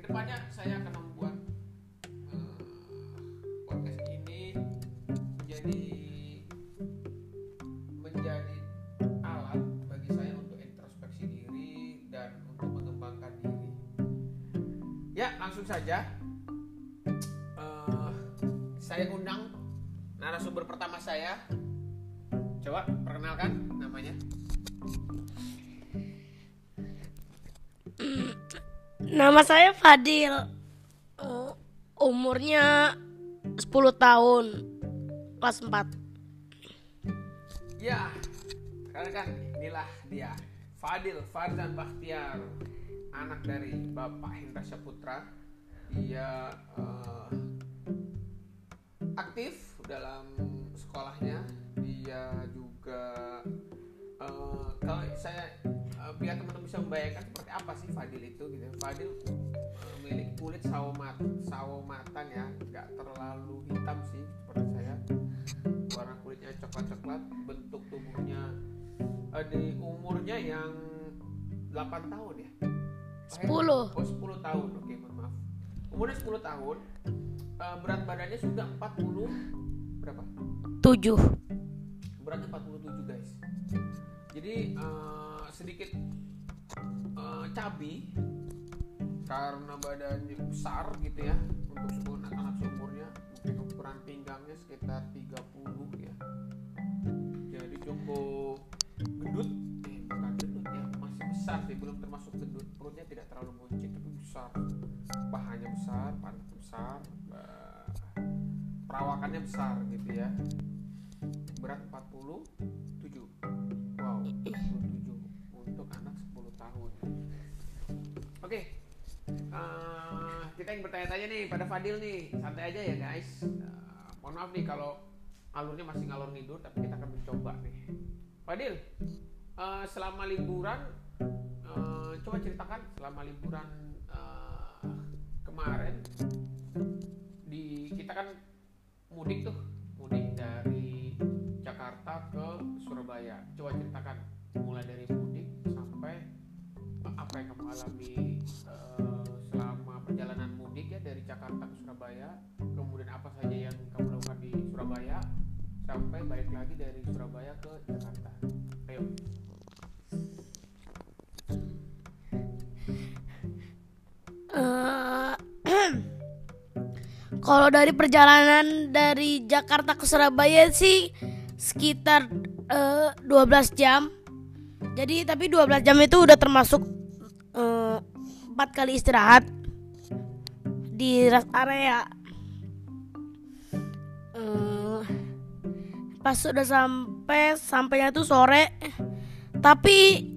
kedepannya saya akan membuat podcast ini menjadi alat bagi saya untuk introspeksi diri dan untuk mengembangkan diri. Ya, langsung saja saya undang narasumber pertama saya. Coba perkenalkan namanya. Nama saya Fadil. Umurnya 10 tahun. Kelas 4. Ya, kan inilah dia, Fadil Farzan Bakhtiar, anak dari Bapak Hendra Saputra. Dia aktif dalam sekolahnya. Dia juga kalau saya biar teman-teman bisa membayangkan seperti apa sih Fadil itu gitu. Fadil memiliki kulit sawo matang ya, nggak terlalu hitam sih seperti saya. Warna kulitnya coklat-coklat, bentuk tubuhnya di umurnya yang 8 tahun ya. 10. 10 tahun. Oke, mohon maaf. Umurnya 10 tahun. Berat badannya sudah 40 berapa? 7. Beratnya 47 guys. Jadi sedikit cabi karena badannya besar gitu ya. Untuk anak-anak seumurnya, mungkin ukuran pinggangnya sekitar 30 ya. Jadi cukup gendut, bukan gendut ya, masih besar sih, belum termasuk gendut. Perutnya tidak terlalu buncit tapi besar. Pahanya besar, pantatnya besar, perawakannya besar gitu ya. Berat 47. Wow, 47 untuk anak 10 tahun. Oke. Kita yang bertanya-tanya nih pada Fadil nih. Santai aja ya guys. Mohon maaf nih kalau alurnya masih ngalor ngidur, tapi kita akan mencoba nih. Fadil, selama liburan coba ceritakan selama liburan kemarin kita kan mudik dari Jakarta ke Surabaya. Coba ceritakan mulai dari mudik sampai apa yang kamu alami selama perjalanan mudik ya dari Jakarta ke Surabaya. Kemudian apa saja yang kamu lakukan di Surabaya sampai balik lagi dari Surabaya ke Jakarta. Ayo. Kalau dari perjalanan dari Jakarta ke Surabaya sih sekitar 12 jam. Jadi tapi 12 jam itu udah termasuk 4 kali istirahat di rest area. Pas sudah sampainya tuh sore. Tapi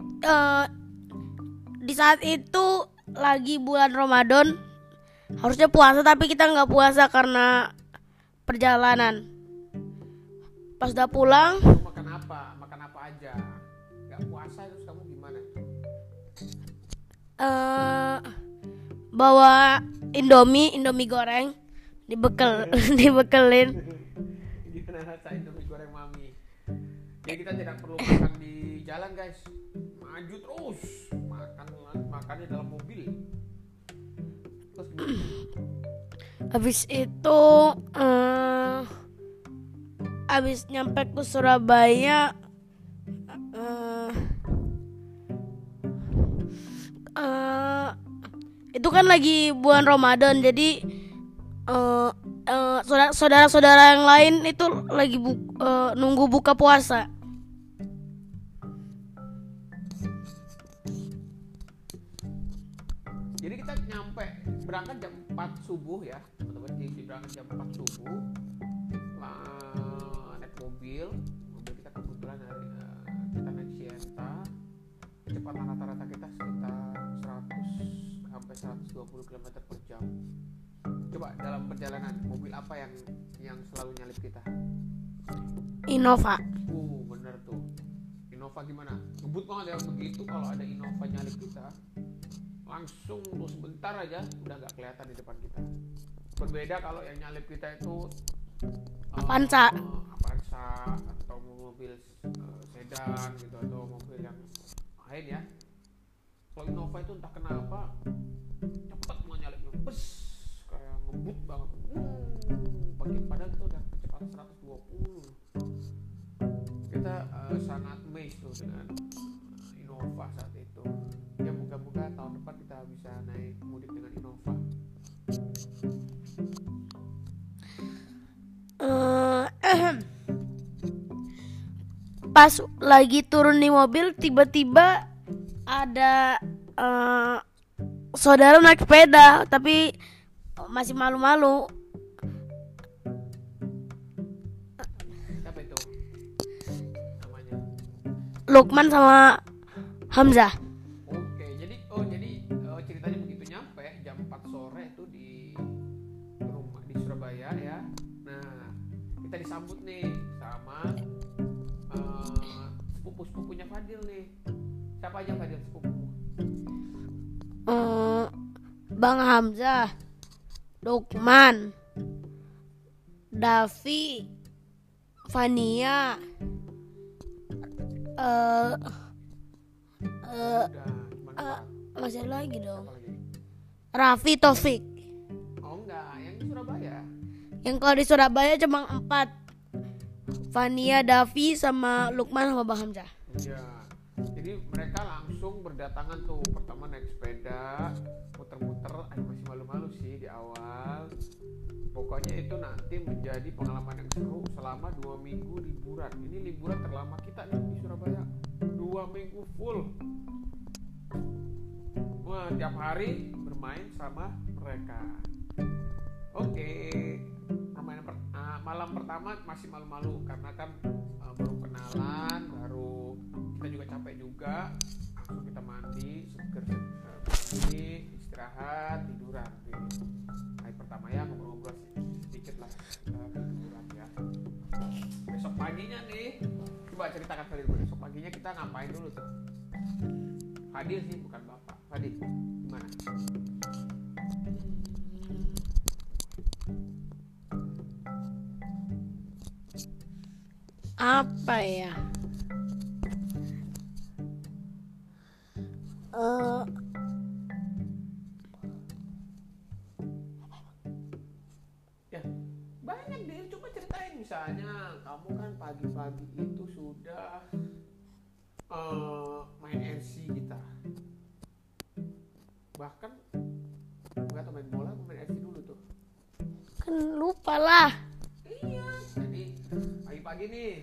di saat itu lagi bulan Ramadan. Harusnya puasa tapi kita nggak puasa karena perjalanan. Pas udah pulang, Makan apa aja? Nggak puasa terus kamu gimana? Bawa Indomie goreng, dibekelin. Gimana rasa Indomie goreng mami? Jadi kita tidak perlu makan di jalan guys, maju terus makannya dalam mobil. Terus Habis itu habis nyampe ke Surabaya itu kan lagi bulan Ramadan, jadi saudara-saudara yang lain itu lagi nunggu buka puasa. jadi kita berangkat jam 4 subuh ya teman-teman. Jadi berangkat jam 4 subuh, naik mobil kita kebetulan kita naik Sienta. Kecepatan rata-rata kita sekitar 100 sampai 120 km per jam. Coba dalam perjalanan mobil apa yang selalu nyalip kita? Innova. Bener tuh. Innova gimana? Ngebut banget ya begitu. Kalau ada Innova nyalip kita, langsung tuh sebentar aja udah nggak kelihatan di depan kita. Berbeda kalau yang nyalip kita itu Avanza atau mobil sedan gitu, atau mobil yang lain ya. Kalau Innova itu entah kenapa cepet mau nyalipnya, smooth banget. Padahal kita udah kecepatan 120. Kita sangat amazed tuh dengan Innova saat itu. Ya moga-moga tahun depan kita bisa naik mudik dengan Innova. Pas lagi turun di mobil, tiba-tiba ada saudara naik sepeda, tapi masih malu-malu. Siapa itu namanya? Lukman sama Hamzah. Oke, jadi ceritanya begitu, nyampe jam 4 sore tuh di rumah di Surabaya ya. Nah, kita disambut nih sama sepupu-sepupunya Fadil nih. Siapa aja Fadil sepupu? Bang Hamzah, Lukman, Davi, Fania, Udah, gimana? masih ada lagi dong. Siapa lagi? Raffi, Taufik. Oh enggak, yang di Surabaya. Yang kalau di Surabaya cuma 4. Fania, Davi, sama Lukman sama Bang Hamzah. Iya. Jadi mereka langsung berdatangan tuh. Pertama naik sepeda, muter-muter. Masih malu-malu sih di awal. Pokoknya itu nanti menjadi pengalaman yang seru selama 2 minggu liburan. Ini liburan terlama kita nih di Surabaya. 2 minggu full. Wah, tiap hari bermain sama mereka. Oke. Malam pertama masih malu-malu karena kan baru kenalan, baru kita juga capek juga. Langsung kita mandi, seger, mandi, istirahat, tiduran. Hari pertama ya ngobrol-ngobrol sedikit lah, tiduran ya. Besok paginya nih, coba ceritakan Fadil, besok paginya kita ngapain dulu tuh? Fadil sih, bukan bapak. Fadil, gimana? Apa ya? Ya banyak deh, coba ceritain. Misalnya kamu kan pagi-pagi itu sudah main RC gitar, bahkan nggak tahu main bola, main RC dulu tuh. Kan lupa lah. Iya, jadi pagi-pagi nih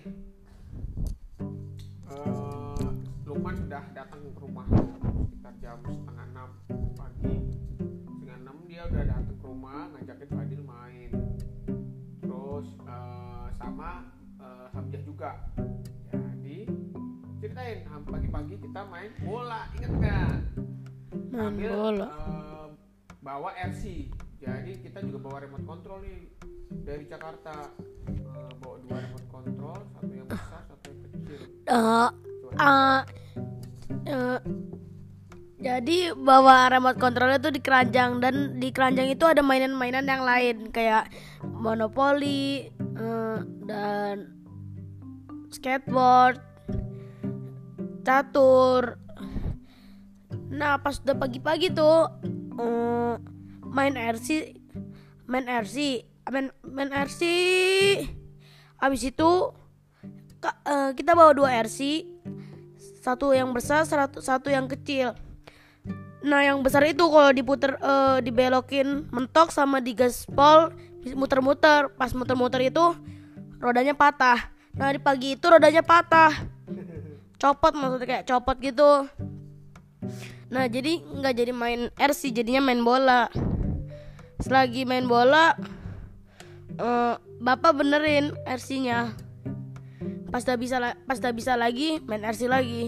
Lukman sudah datang ke rumah sekitar jam 5:30 pagi. 5:30 dia udah datang ke rumah ngajakin Fadil main. Terus sama Hamzah juga. Jadi ceritain pagi-pagi kita main bola, inget nggak? Main bola. Bawa RC. Jadi kita juga bawa remote control nih dari Jakarta. Bawa 2 remote control, satu yang besar, satu yang kecil. Jadi bawa remote controlnya tuh di keranjang, dan di keranjang itu ada mainan-mainan yang lain kayak monopoli dan skateboard, catur. Nah pas udah pagi-pagi tuh main RC. Habis itu kita bawa 2 RC, satu yang besar, satu yang kecil. Nah yang besar itu kalau diputer dibelokin mentok sama digaspol muter-muter. Pas muter-muter itu rodanya patah. Nah di pagi itu rodanya patah, copot, maksudnya kayak copot gitu. Nah jadi nggak jadi main RC, jadinya main bola. Selagi main bola bapak benerin RC-nya. Pas dah bisa lagi main RC lagi.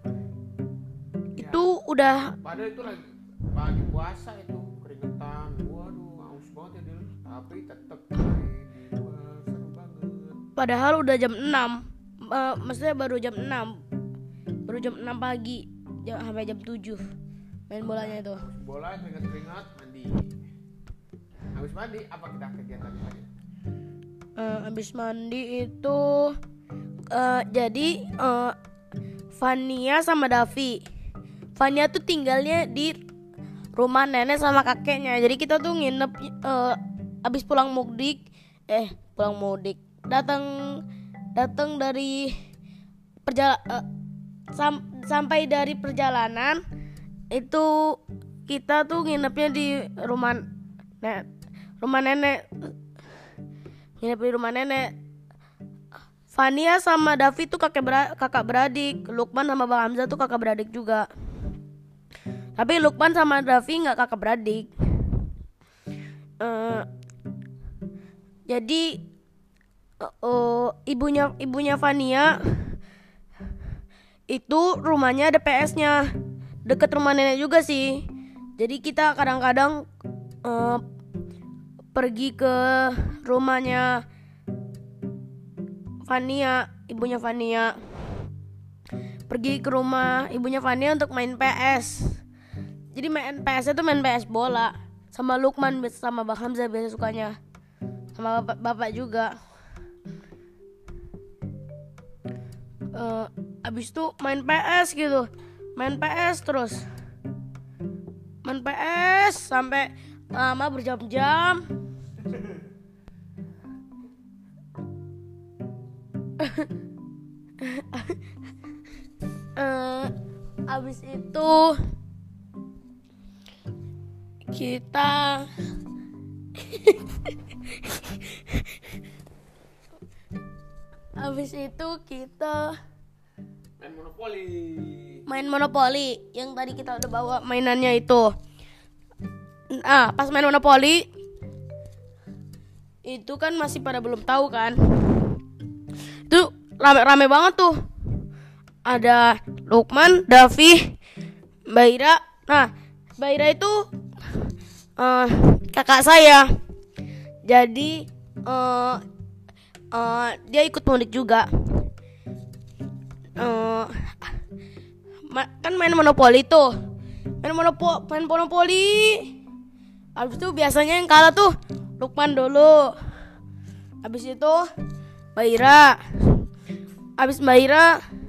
Itu udah. Padahal itu lagi pagi puasa itu, keringetan. Waduh, haus banget ya Dil. Tapi tetap main di luar, seru banget. Padahal udah jam 6. Maksudnya baru jam 6. Baru jam 6 pagi sampai jam 7 main bolanya itu. Habis bola keringat-keringat mandi. Habis mandi apa kita kegiatan tadi? Habis mandi itu jadi Fania sama Davi. Fania tuh tinggalnya di rumah nenek sama kakeknya. Jadi kita tuh nginep abis pulang mudik datang dari sampai dari perjalanan itu kita tuh nginepnya di rumah nenek. Nginep di rumah nenek. Fania sama Davi tuh kakak beradik. Lukman sama Bang Hamzah tuh kakak beradik juga. Tapi Lukman sama Davi nggak kakak beradik. Jadi ibunya Fania itu rumahnya ada PS-nya, deket rumah nenek juga sih. Jadi kita kadang-kadang pergi ke rumahnya Fania, ibunya Fania. Pergi ke rumah ibunya Fania untuk main PS. Jadi main PS itu main PS bola. Sama Lukman sama Bang Hamzah biasa sukanya. Sama bapak juga. Abis itu main PS gitu. Main PS terus. Main PS sampai lama berjam-jam. Abis itu kita main monopoli yang tadi kita udah bawa mainannya itu. Pas main monopoli itu kan masih pada belum tahu kan. Itu rame banget tuh. Ada Lukman, Davi, Mbak Ira. Nah, Mbak Ira itu kakak saya. Jadi dia ikut mudik juga. Kan main monopoli tuh. Main monopoli. Habis itu biasanya yang kalah tuh Lukman dulu. Habis itu Mbak Ira. Habis Mbak Ira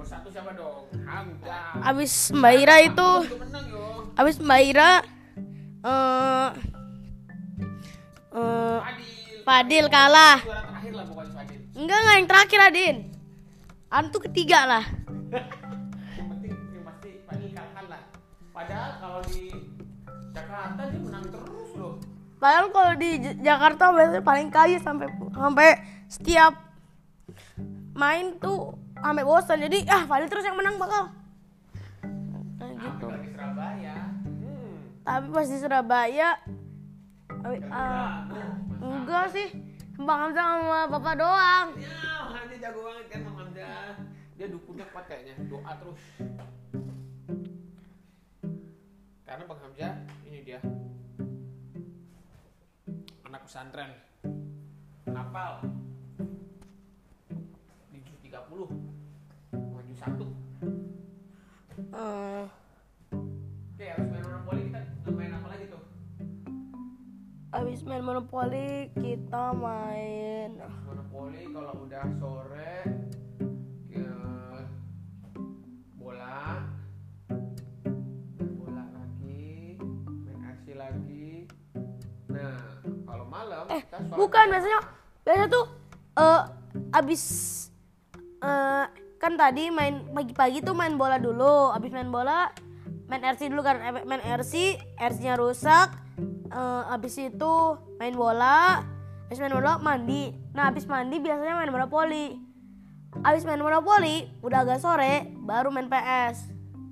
Fadil kalah. Enggak yang terakhir Adin. Antu ketiga lah. Yang pasti Fadil kalah lah. Padahal kalau di Jakarta dia menang terus loh. Padahal kalau di Jakarta biasanya paling kaya sampai setiap main tuh sampai bosan. Jadi Fadil terus yang menang bakal. Gitu. Di Surabaya. Tapi pas di Surabaya enggak sih. Bang Hamzah sama Bapak doang. Ya, dia jago banget kan Bang Hamzah. Dia dukunnya kuat kayaknya, doa terus. Karena Bang Hamzah ini dia anak pesantren. Hafal. Di juz 30. Maju 1. Oke, harus main monopoli kita main apa lagi tuh? Abis main monopoli kita main Monopoli kalau udah sore bola lagi, main RC lagi. Nah, kalau malam kita bukan biasanya tuh abis kan tadi main pagi-pagi tuh main bola dulu. Abis main bola main RC dulu kan. Main RC-nya rusak. Abis itu main bola. Abis main bola mandi. Nah abis mandi biasanya main monopoli. Abis main monopoli udah agak sore baru main PS.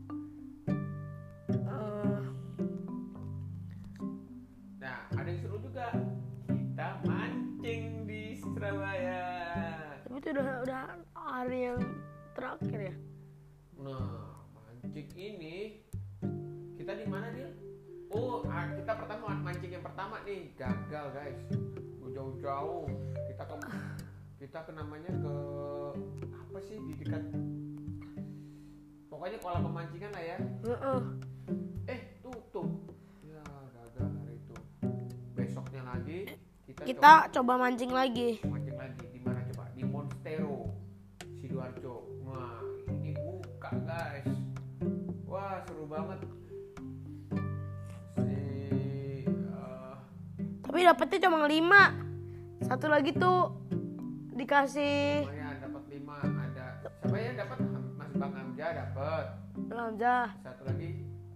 Nah ada yang seru juga, kita mancing di Surabaya. Tapi itu udah hari yang terakhir ya. Nah mancing ini kita di mana dia? Kita pertama mancing yang pertama nih gagal guys. Jauh-jauh kita ke namanya ke apa sih di dekat pokoknya kolam pemancingan lah ya. Tutup ya, gagal hari itu. Besoknya lagi kita coba mancing lagi. Di mana coba? Di Monstero Sidoarjo. Wah ini buka guys. Wah seru banget. Tapi Tapi dapetnya cuma 5. Satu lagi tuh dikasih Lumayan dapat 5. Ada siapa ya dapat? Mas Bang Hamzah dapat. Hamzah, Satu lagi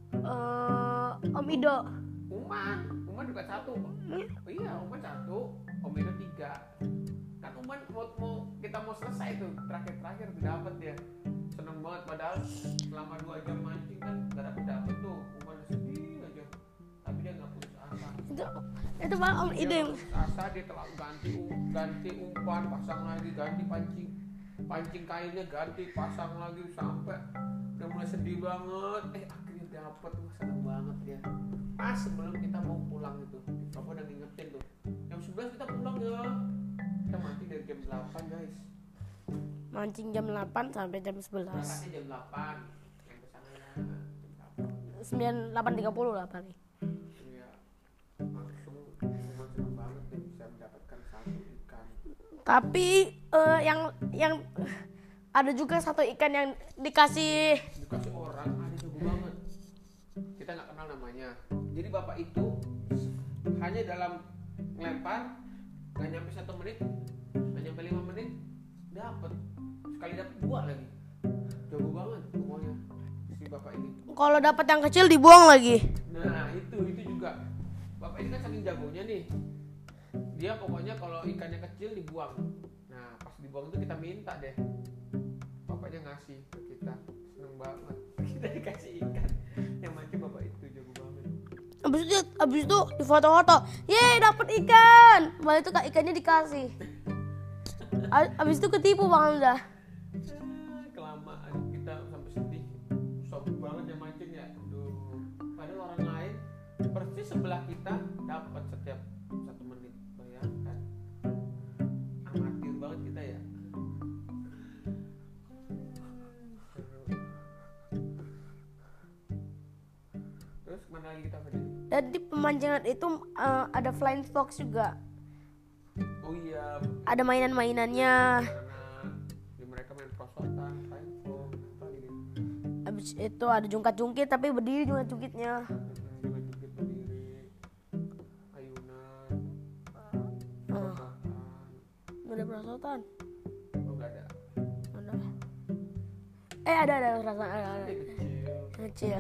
Om Ido. Uman juga 1. Oh iya, Uman 1, Om Ido 3. Kan Uman kita mau selesai tuh, terakhir tuh dapat dia. Seneng banget padahal selama 2 jam mancing kan gak dapet tuh. Uman sedih aja. Tapi dia gak putus asa. Itu malah Om Ido yang Asa dia telah ganti umpan, pasang lagi, ganti pancing kainnya, ganti pasang lagi sampai udah mulai sedih banget. Akhirnya dapet, seneng banget dia. Pas sebelum kita mau pulang itu, Papa udah ngingetin tuh. Jam 11 kita pulang ya. Kita mancing dari jam 8 guys. mancing jam 8 sampai jam 11. Berangkatnya jam 8. Yang kesananya jam 8. 8.30 lah paling. Iya. Langsung seneng banget deh bisa mendapatkan 1 ikan. Tapi yang ada juga 1 ikan yang dikasih Orang ada jago banget, kita nggak kenal namanya. Jadi bapak itu hanya dalam ngelempar nggak nyampe 1 menit, nggak nyampe 5 menit dapat, sekali dapat 2 lagi. Jago banget pokoknya si bapak ini. kalau dapat yang kecil dibuang lagi. Nah itu juga bapak ini kan saking jagonya nih, dia pokoknya kalau ikannya kecil dibuang. Nah pas dibuang itu kita minta deh, bapaknya ngasih ke kita. Seneng banget kita dikasih ikan yang mancing bapak itu, jago banget. Abis itu di foto-foto, yeay dapet ikan. Malah itu kak ikannya dikasih. Abis itu ketipu Bang Hamzah. Kelamaan kita sampai sedih, sobat banget yang mancing ya. Aduh, padahal orang lain persis sebelah kita dapat setiap 1 menit. Bayangkan, amatir banget kita ya. Terus mana lagi kita tadi? Dan di pemancingan itu ada flying fox juga. Oh iya, Ada mainan-mainannya. karena di mereka main prosotan, paintball, apa gitu. Abis itu ada jungkat-jungkit tapi berdiri jungkat-jungkitnya. Juga jukit berdiri, ayunan, prosotan. Ada perosotan. Oh nggak ada. Ada perasaan ada. Dia kecil. Kecil.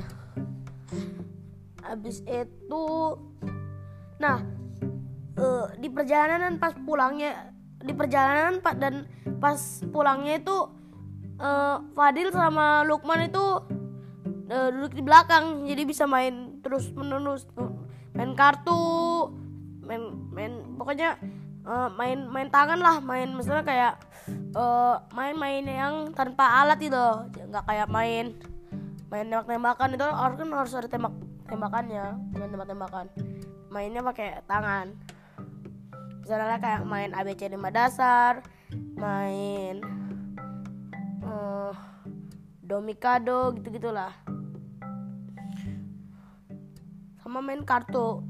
Abis itu, nah di perjalanan pas pulangnya, dan pas pulangnya itu Fadil sama Lukman itu duduk di belakang, jadi bisa main terus menerus, main kartu, main pokoknya main tangan lah, main misalnya kayak main yang tanpa alat itu, nggak kayak main tembak-tembakan itu harus ada tembakannya, main tembak-tembakan, mainnya pakai tangan. Misalnya kayak main ABC 5 dasar, main domikado gitu-gitulah, sama main kartu.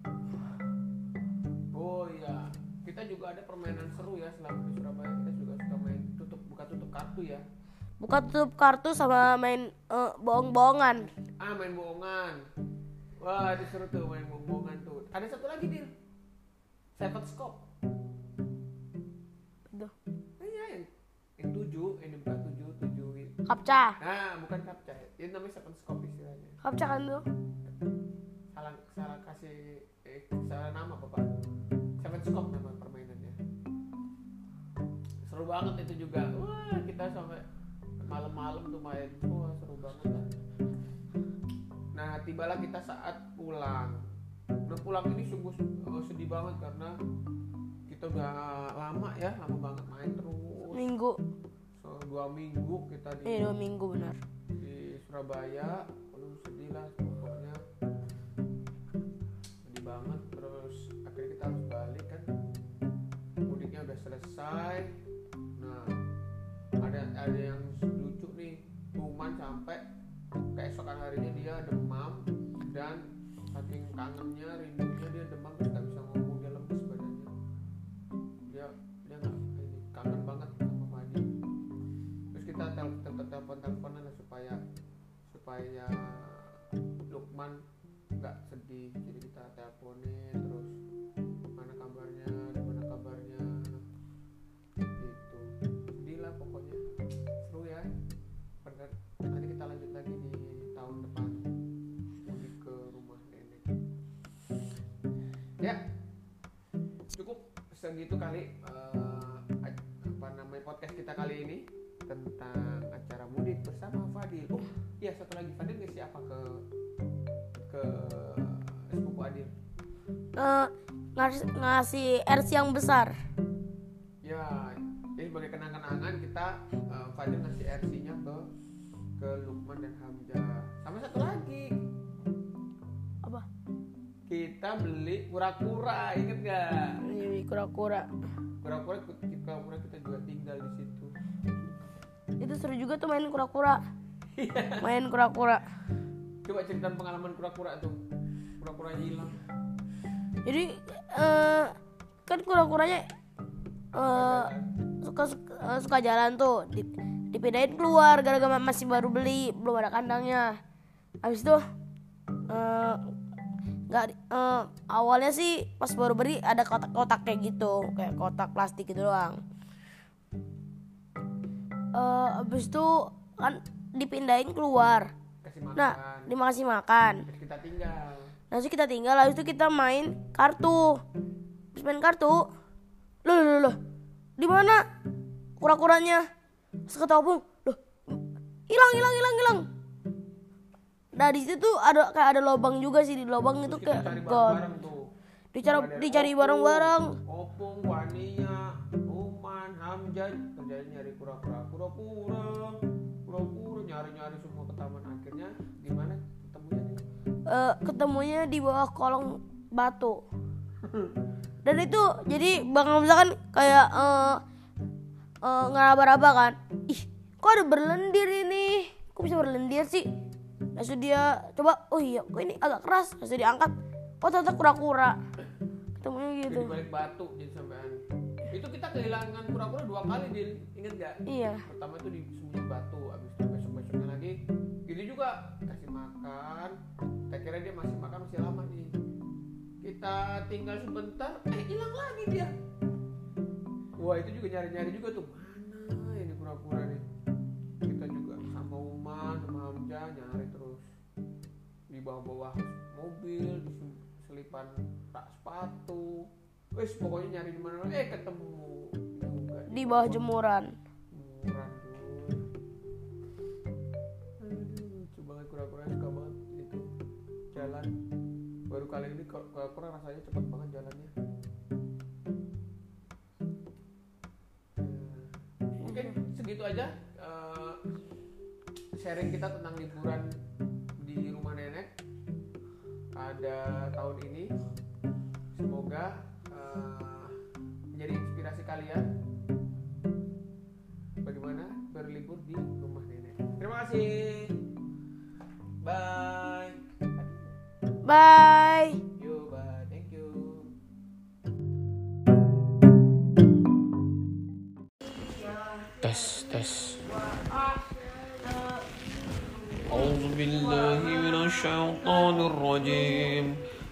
Oh iya, kita juga ada permainan seru ya selama di Surabaya. Kita juga suka main buka tutup kartu ya. Buka tutup kartu sama main bohong-bohongan. Main bohongan. Wah, itu seru tuh main bohongan tuh. Ada satu lagi dia, seven scope. Aduh. Iya, yang 7, ini bukan 7. Kapca. Bukan kapca. Ini namanya seven scope istilahnya. Kapca kan tuh. Salah kasih salah nama bapak. Seven scope nama permainannya. Seru banget itu juga. Wah, kita sampai malam-malam tuh main. Wah, seru banget lah. Nah, tibalah kita saat pulang. Udah pulang ini sungguh sedih banget karena kita udah lama banget main terus. Minggu. 2 minggu kita 2 minggu benar. di Surabaya. Sedih lah pokoknya. Sedih banget. Terus akhirnya kita harus balik kan. Mudiknya udah selesai. Nah, ada yang lucu nih. Cuman sampai keesokan harinya dia demam, dan saking kangennya, rindunya dia demam terus gak bisa ngomong, dia lemes badannya. Dia nggak kangen banget sama Fadi. Terus kita teleponan lah supaya Lukman nggak sedih. Jadi kita teleponin terus cukup segitu kali apa namanya podcast kita kali ini tentang acara mudik bersama Fadil. Oh iya, satu lagi, Fadil ngasih apa ke sepupu Adil? Ngasih RC yang besar. Ya, jadi sebagai kenang-kenangan kita Fadil ngasih RC-nya ke Lukman dan Hamzah. Sama satu lagi, Apa? kita beli kura-kura, inget gak? Ini kura-kura. Kura-kura kita juga tinggal di situ. Itu seru juga tuh main kura-kura. Main kura-kura. Coba ceritain pengalaman kura-kura tuh. Kura-kura hilang. Jadi kan kura-kuranya suka jalan tuh, dipindahin keluar gara-gara masih baru beli, belum ada kandangnya. Habis itu awalnya sih pas baru beli ada kotak-kotak kayak gitu, kayak kotak plastik gitu doang. Habis itu kan dipindahin keluar. Nah, dikasih makan. Terus kita tinggal. Habis itu kita main kartu. Habis main kartu, loh, di mana kura-kuranya? Seketopung, loh, hilang. Nah di situ tuh ada lubang juga sih, di lubang itu kayak god. Dicari bareng-bareng. Opung, Wania, Uman, Hamzah kerjanya nyari kura-kura, nyari semua ke taman. Akhirnya di mana ketemunya nih? Ketemunya di bawah kolong batu. Dan itu jadi Bang Hamzah kan kayak ngeraba-raba kan. Ih, kok ada berlendir ini? Kok bisa berlendir sih? Langsung dia coba, oh iya, kok ini agak keras. Langsung diangkat, oh ternyata kura-kura. Ketemunya gitu. Di balik batu jadi sampean. Itu kita kehilangan kura-kura 2 kali, Dil. Ingat gak? Iya. Pertama itu di sembunyi batu, abis itu besok-besoknya lagi gini juga kasih makan. Kita kira dia masih makan, masih lama nih. Kita tinggal sebentar, hilang lagi dia. Wah, itu juga nyari-nyari juga tuh. Mana ini kura-kura nih? Kita juga sama Uman, sama Hamzah nyari terus. Di bawah-bawah mobil, di selipan tak sepatu. Wes pokoknya nyari di mana, ketemu juga. Di bawah jemuran. Lucu banget kura-kura, suka banget itu jalan. Baru kali ini kura-kura rasanya cepet banget jalannya. Mungkin segitu aja sharing kita tentang liburan di rumah nenek pada tahun ini. Semoga menjadi inspirasi kalian bagaimana berlibur di rumah nenek. Terima kasih. Bye. Bye. Bye. Thank you. Tes. A'udzu billahi minasyaitonir rajim.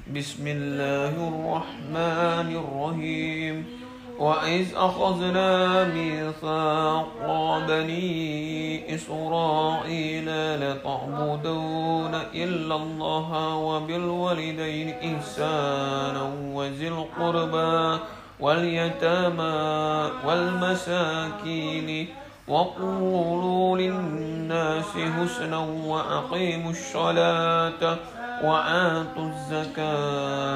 Bismillahirrahmanirrahim. وإذ أخذنا ميثاق بني إسرائيل لتعبدون إلا الله وبالوالدين إحسانا وذي القربى واليتامى والمساكين وقولوا للناس حسنا وأقيموا الصلاة وآتوا الزكاة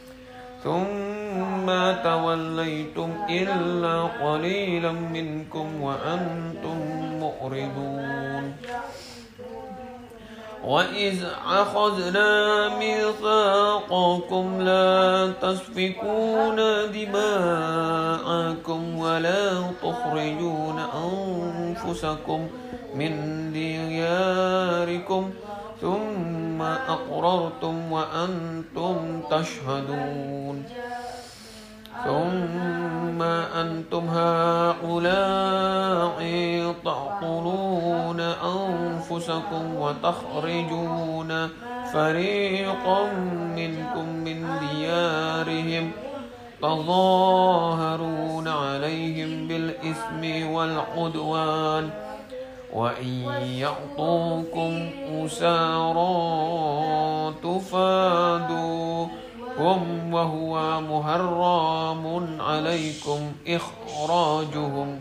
ثم توليتم إلا قليلا منكم وأنتم معرضون وإذ أخذنا ميثاقكم لا تسفكون دماءكم ولا تخرجون أنفسكم من دياركم ثم أقررتم وأنتم تشهدون ثم أنتم هؤلاء تقتلون أنفسكم وتخرجون فريقا منكم من ديارهم تظاهرون عليهم بالإثم والعدوان وإن يعطوكم أسارى تفادوا وهو محرم عليكم إخراجهم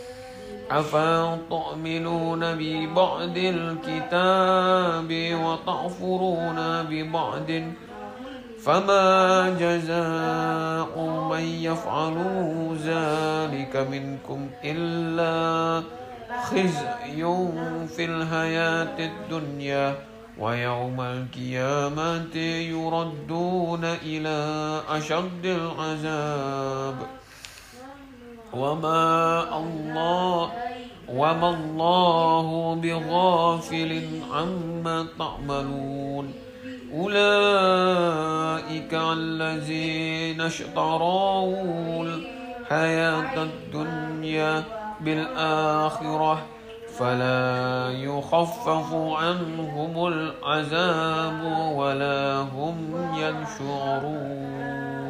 أفتؤمنون ببعض الكتاب وتكفرون ببعض فما جزاء من يفعل ذلك منكم إلا خزي في الحياة الدنيا ويوم القيامة يردون إلى أشد العذاب وما الله بغافل عما تعملون أولئك الذين اشتروا الحياة الدنيا بالآخرة فلا يخفف عنهم العذاب ولا هم ينشرون.